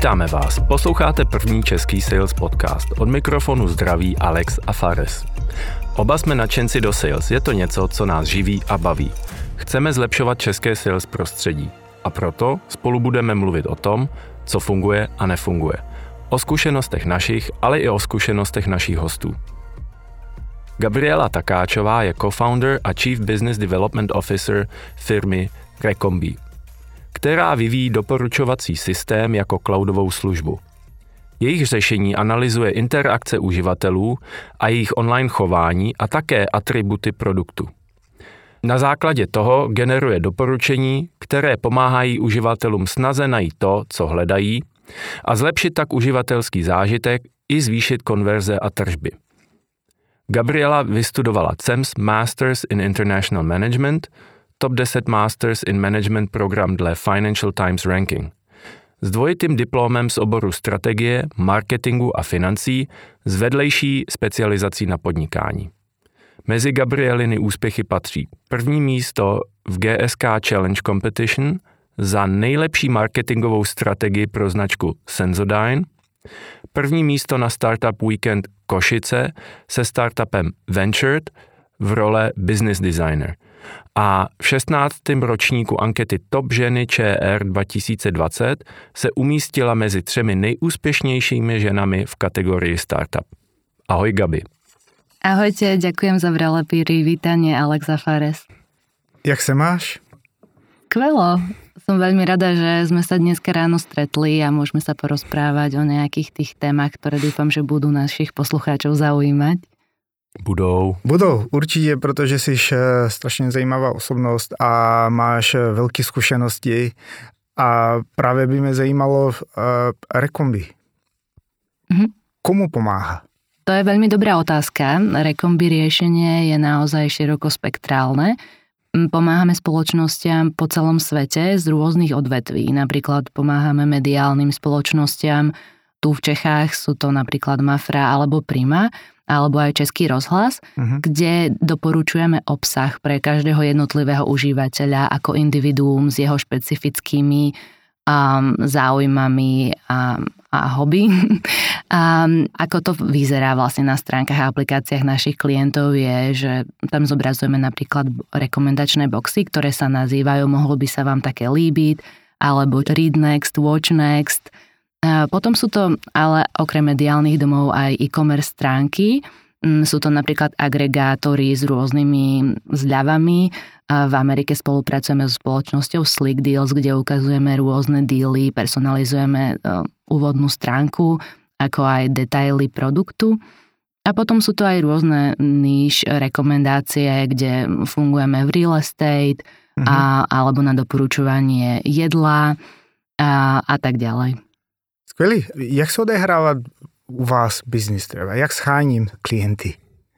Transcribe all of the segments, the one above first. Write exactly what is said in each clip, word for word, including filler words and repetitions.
Vítáme vás. Posloucháte první český sales podcast. Od mikrofonu zdraví Alex a Fares. Oba jsme nadšenci do sales. Je to něco, co nás živí a baví. Chceme zlepšovat české sales prostředí. A proto spolu budeme mluvit o tom, co funguje a nefunguje. O zkušenostech našich, ale i o zkušenostech našich hostů. Gabriela Takáčová je co-founder a Chief Business Development Officer firmy Recombi, která vyvíjí doporučovací systém jako cloudovou službu. Jejich řešení analyzuje interakce uživatelů a jejich online chování a také atributy produktu. Na základě toho generuje doporučení, které pomáhají uživatelům snaze najít to, co hledají, a zlepšit tak uživatelský zážitek i zvýšit konverze a tržby. Gabriela vystudovala C E M S Masters in International Management, top deset Masters in Management program dle Financial Times Ranking. S dvojitým diplomem z oboru strategie, marketingu a financí s vedlejší specializací na podnikání. Mezi Gabrieliny úspěchy patří první místo v G S K Challenge Competition za nejlepší marketingovou strategii pro značku Sensodyne, první místo na Startup Weekend Košice se startupem Ventured v role business designer a v šestnáctém ročníku ankety Top ženy Č R dva tisíce dvacet se umístila mezi třemi nejúspěšnějšími ženami v kategorii startup. Ahoj Gabi. Ahojte, ďakujem za vrele privítanie, Alex a Fares. Jak se máš? Skvelo. Som veľmi rada, že sme sa dneska ráno stretli a môžeme sa porozprávať o nejakých tých témach, ktoré dúfam, že budú našich poslucháčov zaujímať. Budou. Budou, určitě, protože jsi strašně zajímavá osobnost a máš velké zkušenosti a právě by mě zajímalo uh, Recombi. Mhm. Komu pomáha? To je veľmi dobrá otázka. Recombi riešenie je naozaj širokospektrálne. Pomáhame spoločnostiam po celom svete z rôznych odvetví. Napríklad pomáhame mediálnym spoločnostiam. Tu v Čechách sú to napríklad Mafra alebo Prima, alebo aj Český rozhlas, uh-huh. kde doporučujeme obsah pre každého jednotlivého užívateľa ako individuum s jeho špecifickými um, záujmami a, a hobby. A ako to vyzerá vlastne na stránkach a aplikáciách našich klientov je, že tam zobrazujeme napríklad rekomendačné boxy, ktoré sa nazývajú, mohlo by sa vám také líbiť, alebo read next, watch next. A potom sú to ale okrem mediálnych domov aj e-commerce stránky. Sú to napríklad agregátory s rôznymi zľavami. A v Amerike spolupracujeme so spoločnosťou Slick Deals, kde ukazujeme rôzne dealy, personalizujeme úvodnú stránku, ako aj detaily produktu. A potom sú to aj rôzne níž rekomendácie, kde fungujeme v real estate mm-hmm. a, alebo na doporučovanie jedla a, a tak ďalej. Skvělý. Jak se odehrává u vás business třeba? Jak scháním klienty?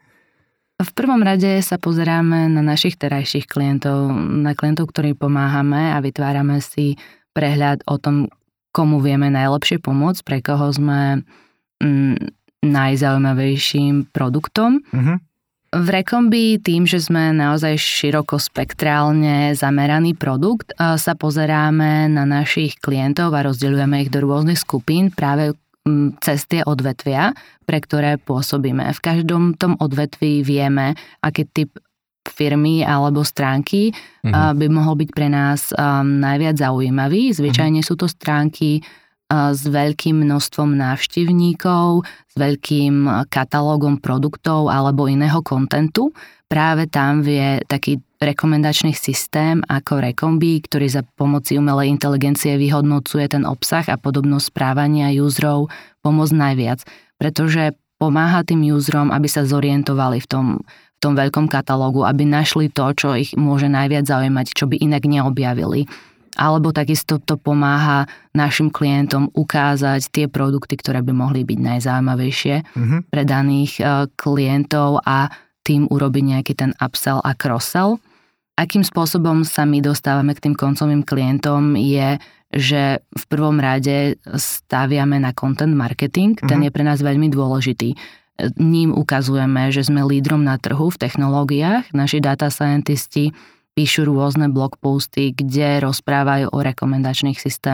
V prvom rade sa pozeráme na našich terajších klientov, na klientov, ktorým pomáhame a vytvárame si prehľad o tom, komu vieme najlepšie pomôcť, pre koho sme mm, najzaujímavejším produktom. Mm-hmm. V Recombi tým, že sme naozaj širokospektrálne zameraný produkt, sa pozeráme na našich klientov a rozdeľujeme ich do rôznych skupín práve cez tie odvetvia, pre ktoré pôsobíme. V každom tom odvetví vieme, aký typ firmy alebo stránky mm-hmm. by mohol byť pre nás um, najviac zaujímavý. Zvyčajne mm-hmm. sú to stránky uh, s veľkým množstvom návštevníkov, s veľkým katalógom produktov alebo iného kontentu. Práve tam vie taký rekomendačný systém ako Recombi, ktorý za pomoci umelej inteligencie vyhodnocuje ten obsah a podobnosť správania userov, pomôcť najviac. Pretože pomáha tým userom, aby sa zorientovali v tom v tom veľkom katalógu, aby našli to, čo ich môže najviac zaujímať, čo by inak neobjavili. Alebo takisto to pomáha našim klientom ukázať tie produkty, ktoré by mohli byť najzaujímavejšie mm-hmm. pre daných uh, klientov a tým urobiť nejaký ten upsell a cross-sell. Akým spôsobom sa my dostávame k tým koncovým klientom je, že v prvom rade staviame na content marketing, ten mm-hmm. je pre nás veľmi dôležitý. Ním ukazujeme, že sme lídrom na trhu v technológiách. Naši data scientisti píšu rôzne blog posty, kde rozprávajú o rekomendačných systémoch,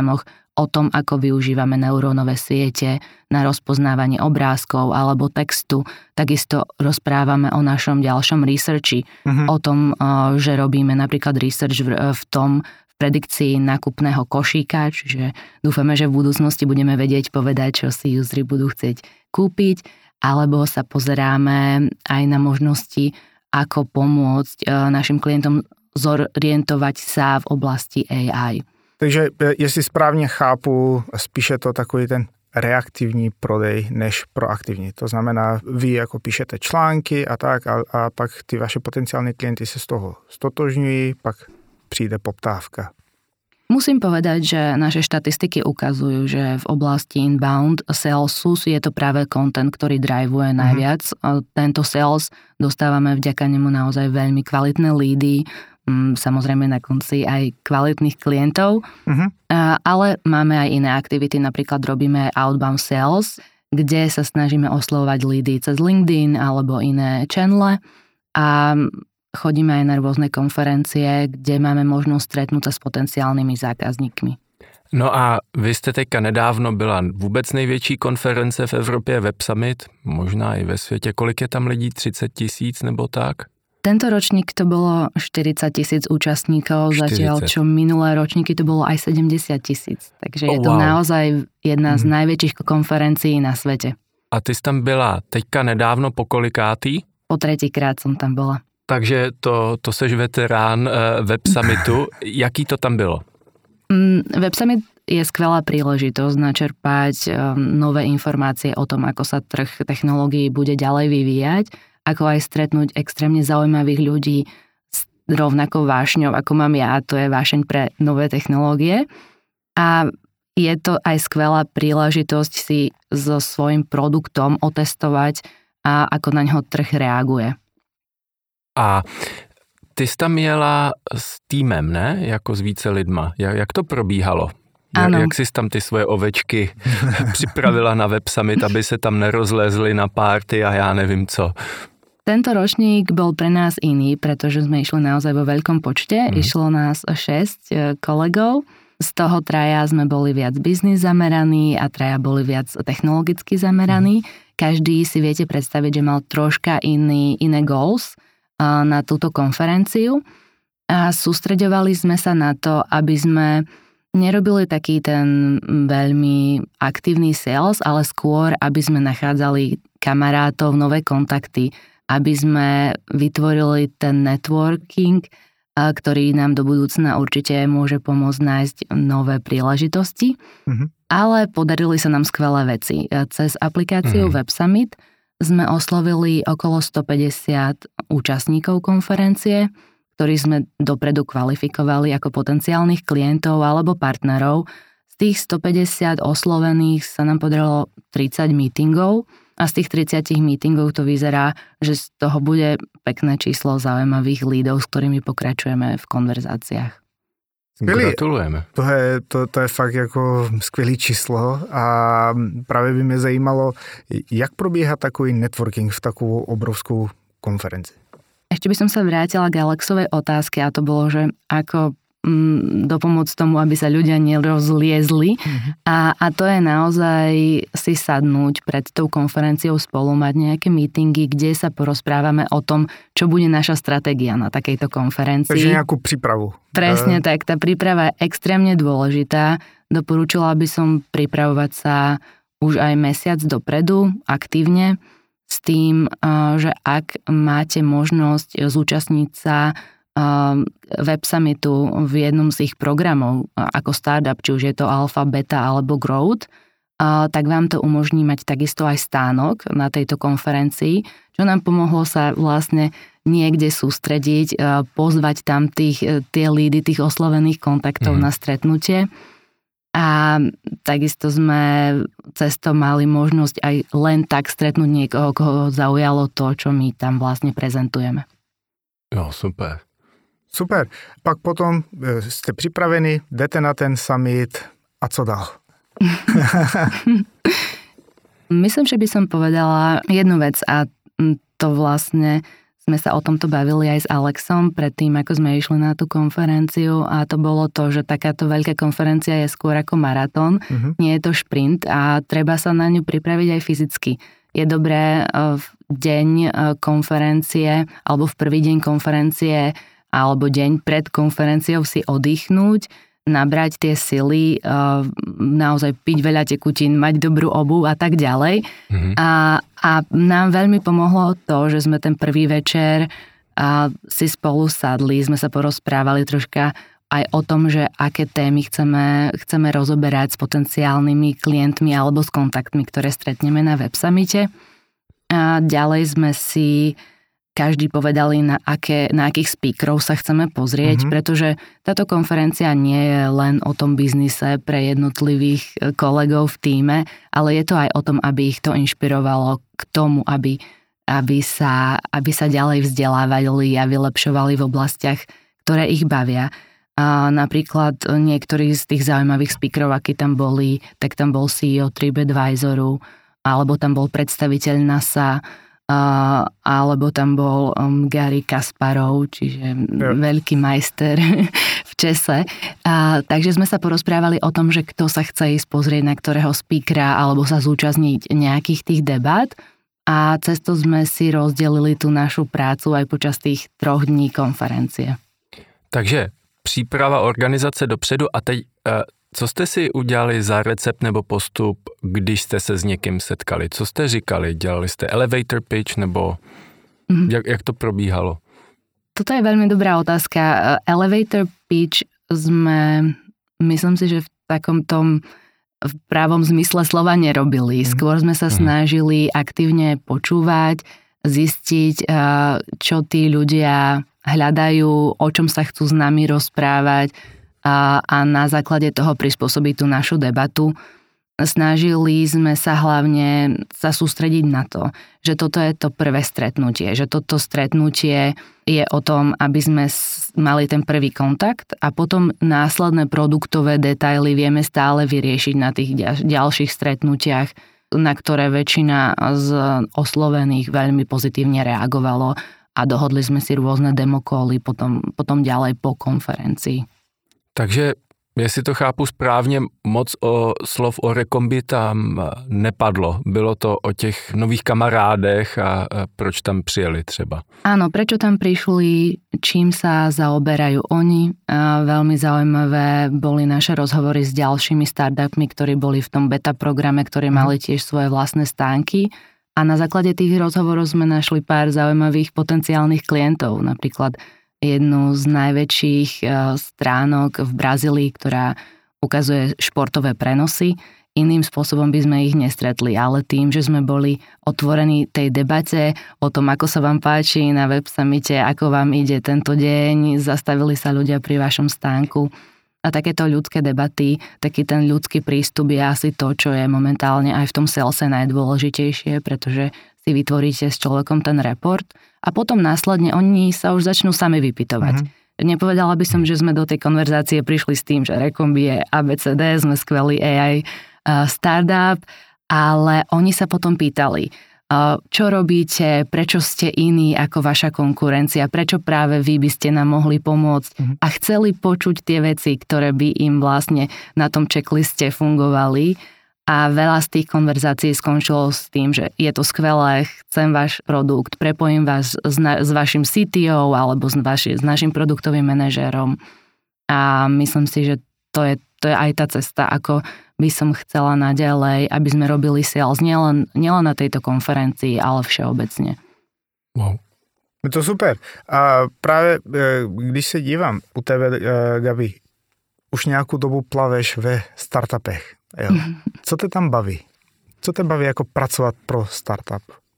o tom, ako využívame neurónové siete na rozpoznávanie obrázkov alebo textu. Takisto rozprávame o našom ďalšom researchi, uh-huh. o tom, že robíme napríklad research v tom, v predikcii nákupného košíka, čiže dúfame, že v budúcnosti budeme vedieť povedať, čo si useri budú chcieť kúpiť, alebo sa pozeráme aj na možnosti, ako pomôcť našim klientom zorientovať sa v oblasti á í. Takže jestli správně chápu, spíše to takový ten reaktivní prodej než proaktivní. To znamená, vy jako píšete články a tak a, a pak ty vaše potenciální klienty se z toho stotožňují, pak přijde poptávka. Musím povedať, že naše štatistiky ukazujú, že v oblasti inbound salesu je to práve content, ktorý drivuje najviac. Mm-hmm. Tento sales dostávame vďaka nemu naozaj veľmi kvalitné lídy, samozrejme na konci aj kvalitných klientov, mm-hmm. ale máme aj iné aktivity, napríklad robíme outbound sales, kde sa snažíme oslovovať lídy cez LinkedIn alebo iné channele a chodíme aj na rôzne konferencie, kde máme možnosť stretnúť sa s potenciálnymi zákazníkmi. No a vy jste teďka nedávno byla vůbec největší konference v Evropě, Web Summit, možná i ve světě. Kolik je tam lidí? třicet tisíc nebo tak? Tento ročník to bolo štyridsať tisíc účastníkov, štyridsať. Zatiaľ čo minulé ročníky to bolo aj sedemdesiat tisíc. Takže oh, je to wow. naozaj jedna z mm. najväčších konferencií na svete. A ty jsi tam byla teďka nedávno po kolikátý? Po tretíkrát som tam bola. Takže to, to seš veterán uh, Web Summitu. Jaký to tam bylo? Mm, Web Summit je skvelá príležitosť načerpať um, nové informácie o tom, ako sa trh technológií bude ďalej vyvíjať, ako aj stretnúť extrémne zaujímavých ľudí s rovnakou vášňou, ako mám ja, to je vášeň pre nové technológie. A je to aj skvelá príležitosť si so svojím produktom otestovať, a ako na ňo trh reaguje. A ty jsi tam jela s týmem, ne? Jako s více lidma. Jak, jak to probíhalo? Ano. Jak jsi tam ty svoje ovečky připravila na Web Summit, aby se tam nerozlezli na párty a já nevím co? Tento ročník bol pre nás iný, pretože sme išli naozaj vo veľkom počte. Mm. Išlo nás šesť kolegov. Z toho traja sme boli viac biznis zameraní a traja boli viac technologicky zameraní. Mm. Každý si viete predstaviť, že mal troška iný, iné goals na túto konferenciu. A sústreďovali sme sa na to, aby sme nerobili taký ten veľmi aktívny sales, ale skôr, aby sme nachádzali kamarátov, nové kontakty, aby sme vytvorili ten networking, ktorý nám do budúcna určite môže pomôcť nájsť nové príležitosti. Mm-hmm. Ale podarili sa nám skvelé veci. Cez aplikáciu mm-hmm. Web Summit sme oslovili okolo stopäťdesiat účastníkov konferencie, ktorých sme dopredu kvalifikovali ako potenciálnych klientov alebo partnerov. Z tých stopäťdesiat oslovených sa nám podarilo tridsať meetingov a z tých tridsať meetingov to vyzerá, že z toho bude pekné číslo zaujímavých lídov, s ktorými pokračujeme v konverzáciách. Skvělý. Gratulujeme. To je, to, to je fakt jako skvělý číslo a právě by mě zajímalo, jak probíhá takový networking v takovou obrovskou konferenci. Ešte by som sa vrátila k Alexovej otázke a to bolo, že ako mm, dopomôcť tomu, aby sa ľudia nerozliezli. Mm-hmm. A, a to je naozaj si sadnúť pred tou konferenciou spolu, mať nejaké meetingy, kde sa porozprávame o tom, čo bude naša stratégia na takejto konferencii. Takže nejakú prípravu. Presne tak, tá príprava je extrémne dôležitá. Doporučila by som pripravovať sa už aj mesiac dopredu, aktívne, s tým, že ak máte možnosť zúčastniť sa Web Summitu v jednom z ich programov ako startup, či už je to Alpha, Beta alebo Growth, tak vám to umožní mať takisto aj stánok na tejto konferencii, čo nám pomohlo sa vlastne niekde sústrediť, pozvať tam tých, tie lídy, tých oslovených kontaktov mm. na stretnutie. A takisto sme cesto mali možnosť aj len tak stretnúť niekoho, koho zaujalo to, čo my tam vlastne prezentujeme. Jo, super. Super. Pak potom ste pripravení, jdete na ten summit a co dál? Myslím, že by som povedala jednu vec a to vlastne sme sa o tomto bavili aj s Alexom predtým, ako sme išli na tú konferenciu a to bolo to, že takáto veľká konferencia je skôr ako maratón, uh-huh. nie je to šprint a treba sa na ňu pripraviť aj fyzicky. Je dobré v deň konferencie alebo v prvý deň konferencie alebo deň pred konferenciou si oddychnúť, nabrať tie sily, naozaj piť veľa tekutín, mať dobrú obuv a tak ďalej. Mm-hmm. A, a nám veľmi pomohlo to, že sme ten prvý večer a si spolu sadli, sme sa porozprávali troška aj o tom, že aké témy chceme, chceme rozoberať s potenciálnymi klientmi alebo s kontaktmi, ktoré stretneme na Web Summite. A ďalej sme si každý povedali, na, aké, na akých speakerov sa chceme pozrieť, mm-hmm. pretože táto konferencia nie je len o tom biznise pre jednotlivých kolegov v tíme, ale je to aj o tom, aby ich to inšpirovalo k tomu, aby, aby, sa, aby sa ďalej vzdelávali a vylepšovali v oblastiach, ktoré ich bavia. A napríklad niektorí z tých zaujímavých speakerov, akí tam boli, tak tam bol sí í ó TripAdvisoru, alebo tam bol predstaviteľ NASA, Uh, alebo tam bol um, Gary Kasparov, čiže ja. veľký majster v čese. Uh, takže sme sa porozprávali o tom, že kto sa chce ísť pozrieť na ktorého speakera alebo sa zúčastniť nejakých tých debát a cez to sme si rozdelili tú našu prácu aj počas tých troch dní konferencie. Takže příprava organizace dopředu a teď uh... co jste si udělali za recept nebo postup, když jste se s někým setkali? Co jste říkali? Dělali jste elevator pitch nebo mm-hmm. jak, jak to probíhalo? Toto je veľmi dobrá otázka. Elevator pitch sme, myslím si, že v takom tom v právom zmysle slova nerobili. Skôr sme sa snažili aktívne počúvať, zistiť, čo tí ľudia hľadajú, o čom sa chcú s nami rozprávať, A, a na základe toho prispôsobiť tú našu debatu. Snažili sme sa hlavne sa sústrediť na to, že toto je to prvé stretnutie, že toto stretnutie je o tom, aby sme mali ten prvý kontakt a potom následné produktové detaily vieme stále vyriešiť na tých ďalších stretnutiach, na ktoré väčšina z oslovených veľmi pozitívne reagovalo a dohodli sme si rôzne demokoly potom, potom ďalej po konferencii. Takže, jestli to chápu správně, moc o slov o Recombi tam nepadlo. Bylo to o těch nových kamarádech a proč tam přijeli třeba. Áno, prečo tam prišli, čím sa zaoberajú oni. A veľmi zaujímavé boli naše rozhovory s ďalšími startupmi, ktorí boli v tom beta programe, ktorí mali tiež svoje vlastné stánky. A na základe tých rozhovorov sme našli pár zaujímavých potenciálnych klientov, napríklad jednu z najväčších stránok v Brazílii, ktorá ukazuje športové prenosy. Iným spôsobom by sme ich nestretli, ale tým, že sme boli otvorení tej debate o tom, ako sa vám páči na Web Summite, ako vám ide tento deň, zastavili sa ľudia pri vašom stánku. A takéto ľudské debaty, taký ten ľudský prístup je asi to, čo je momentálne aj v tom salese najdôležitejšie, pretože si vytvoríte s človekom ten report a potom následne oni sa už začnú sami vypytovať. Mm-hmm. Nepovedala by som, že sme do tej konverzácie prišli s tým, že Recombi je á bé cé dé, sme skvelý á í uh, startup, ale oni sa potom pýtali, uh, čo robíte, prečo ste iní ako vaša konkurencia, prečo práve vy by ste nám mohli pomôcť mm-hmm. a chceli počuť tie veci, ktoré by im vlastne na tom checkliste fungovali. A veľa z tých konverzácií skončilo s tým, že je to skvelé, chcem váš produkt, prepojím vás s, na, s vašim sí tí ó alebo s, vaši, s našim produktovým manažérom. A myslím si, že to je, to je aj tá cesta, ako by som chcela naďalej, aby sme robili sales nielen, nielen na tejto konferencii, ale všeobecne. Wow. Je to super. A právě, když se dívám u tebe, Gabi, už nějakou dobu plaveš ve startupech. Jo. Co te tam baví? Co te baví ako pracovať pro startup?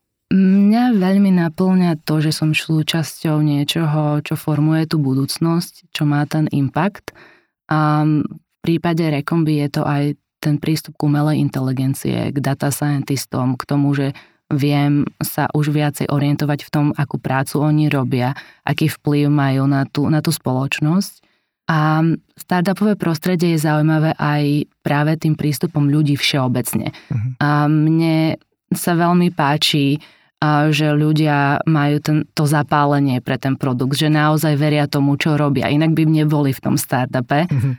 Mňa veľmi naplňa to, že som súčasťou niečoho, čo formuje tú budúcnosť, čo má ten impact. A v prípade Recombi je to aj ten prístup k umelej inteligencie, k data scientistom, k tomu, že viem sa už viacej orientovať v tom, akú prácu oni robia, aký vplyv majú na tú, na tú spoločnosť. A startupové prostredie je zaujímavé aj práve tým prístupom ľudí všeobecne. Uh-huh. A mne sa veľmi páči že ľudia majú ten, to zapálenie pre ten produkt, že naozaj veria tomu, čo robia. Inak by neboli v tom startupe. Mm-hmm.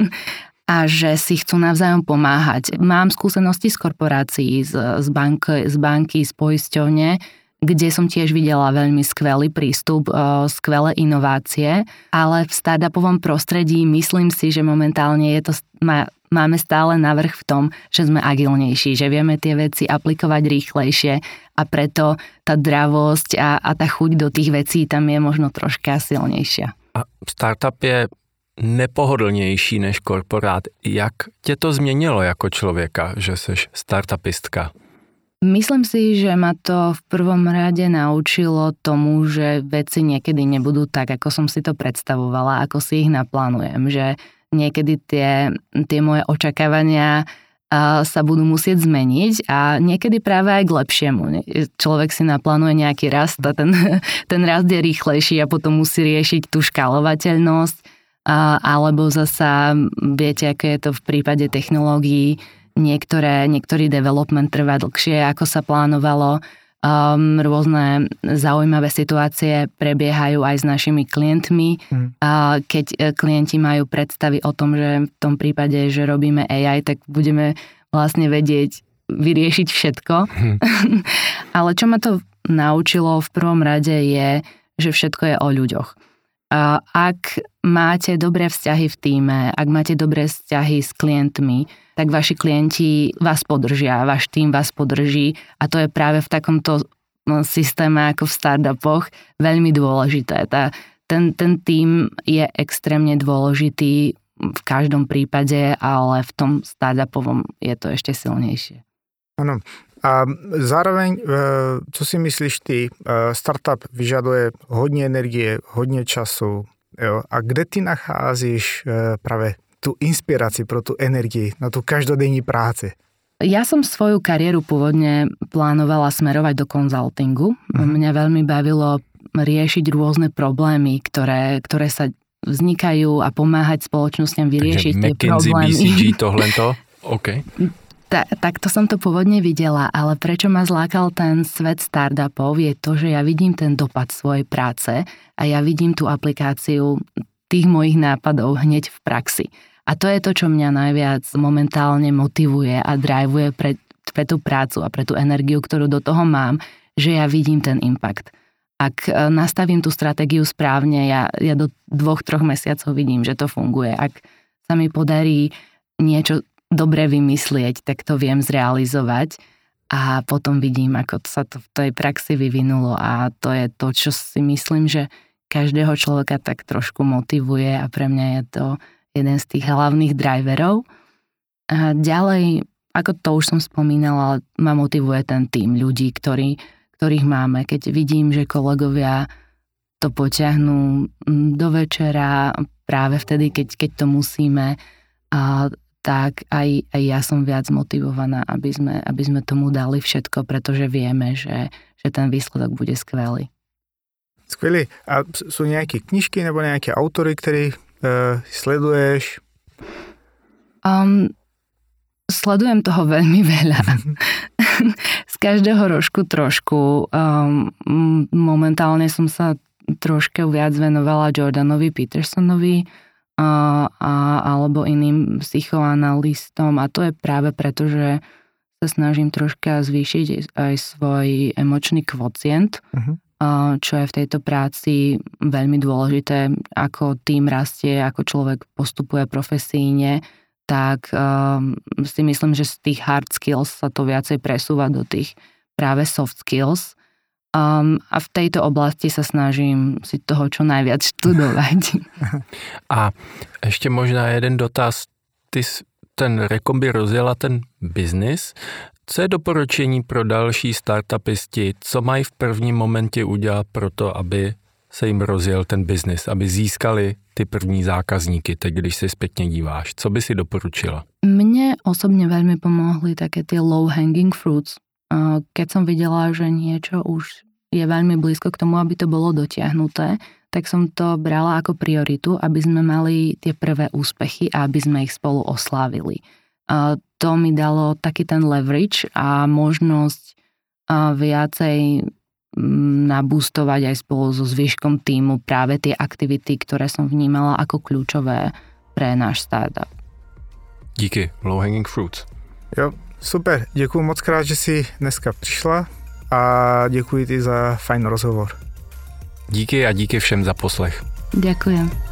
A že si chcú navzájom pomáhať. Mám skúsenosti z korporácií, z, z, bank, z banky, z poisťovne, kde som tiež videla veľmi skvelý prístup, skvelé inovácie, ale v startupovom prostredí myslím si, že momentálne je to, má, máme stále navrch v tom, že sme agilnejší, že vieme tie veci aplikovať rýchlejšie a preto tá dravosť a, a tá chuť do tých vecí tam je možno troška silnejšia. A startup je nepohodlnější než korporát. Jak tě to změnilo jako člověka, že seš startupistka? Myslím si, že ma to v prvom rade naučilo tomu, že veci niekedy nebudú tak, ako som si to predstavovala, ako si ich naplánujem. Že niekedy tie, tie moje očakávania sa budú musieť zmeniť a niekedy práve aj k lepšiemu. Človek si naplánuje nejaký rast a ten, ten rast je rýchlejší a potom musí riešiť tú škálovateľnosť, alebo zasa, viete, ako je to v prípade technológií, Niektoré, niektorý development trvá dlhšie, ako sa plánovalo. Um, rôzne zaujímavé situácie prebiehajú aj s našimi klientmi. Hmm. Uh, keď klienti majú predstavy o tom, že v tom prípade, že robíme á í, tak budeme vlastne vedieť vyriešiť všetko. Hmm. Ale čo ma to naučilo v prvom rade je, že všetko je o ľuďoch. Uh, ak máte dobré vzťahy v tíme, ak máte dobré vzťahy s klientmi, tak vaši klienti vás podržia, váš tím vás podrží a to je práve v takomto systéme ako v startupoch veľmi dôležité. Tá, ten, ten tím je extrémne dôležitý v každom prípade, ale v tom startupovom je to ešte silnejšie. Áno. A zároveň, co si myslíš ty, startup vyžaduje hodně energie, hodně času, jo? A kde ty nacházíš práve tú inspiraci pro tú energii na tú každodenní práci? Ja som svoju kariéru pôvodne plánovala smerovať do konzultingu. Uh-huh. Mňa veľmi bavilo riešiť rôzne problémy, ktoré, ktoré sa vznikajú a pomáhať spoločnostiam vyriešiť tie problémy. Takže McKinsey, bé cé gé, tohleto? OK. Ta, takto som to pôvodne videla, ale prečo ma zlákal ten svet startupov je to, že ja vidím ten dopad svojej práce a ja vidím tú aplikáciu tých mojich nápadov hneď v praxi. A to je to, čo mňa najviac momentálne motivuje a drivuje pre, pre tú prácu a pre tú energiu, ktorú do toho mám, že ja vidím ten impact. Ak nastavím tú stratégiu správne, ja, ja do dvoch, troch mesiacov vidím, že to funguje. Ak sa mi podarí niečo dobre vymyslieť, tak to viem zrealizovať a potom vidím, ako sa to v tej praxi vyvinulo a to je to, čo si myslím, že každého človeka tak trošku motivuje a pre mňa je to jeden z tých hlavných driverov. A ďalej, ako to už som spomínala, ma motivuje ten tím ľudí, ktorí, ktorých máme. Keď vidím, že kolegovia to potiahnú do večera práve vtedy, keď, keď to musíme, a tak aj, aj ja som viac motivovaná, aby sme, aby sme tomu dali všetko, pretože vieme, že, že ten výsledok bude skvelý. Skvělý. A sú nejaké knižky nebo nejaké autory, ktorých uh, sleduješ? Um, sledujem toho veľmi veľa. Z každého rožku trošku. Um, momentálne som sa trošku viac venovala Jordanovi Petersonovi a, a, alebo iným psychoanalystom a to je práve preto, že sa snažím troška zvýšiť aj svoj emočný kvocient, uh-huh. čo je v tejto práci veľmi dôležité, ako tým rastie, ako človek postupuje profesíne, tak um, si myslím, že z tých hard skills sa to viacej presúva do tých práve soft skills. Um, a v tejto oblasti sa snažím si toho čo najviac študovať. A ešte možná jeden dotaz. Ty ten Recombi rozjela ten biznis. Co je doporučení pro další startupisti? Co mají v prvním momentě udělat pro to, aby se jim rozjel ten biznis, aby získali ty první zákazníky, teď když si zpětně díváš? Co by si doporučila? Mne osobne veľmi pomohli také tie low hanging fruits. Keď som videla, že niečo už je veľmi blízko k tomu, aby to bolo dotiahnuté, tak som to brala ako prioritu, aby sme mali tie prvé úspechy a aby sme ich spolu oslávili. To mi dalo taký ten leverage a možnosť viacej nabústovať aj spolu so zvyškom týmu práve tie aktivity, ktoré som vnímala ako kľúčové pre náš startup. Díky, low hanging fruits. Jo, super, děkuji moc krát, že jsi dneska přišla a děkuji ti za fajn rozhovor. Díky a díky všem za poslech. Ďakujem.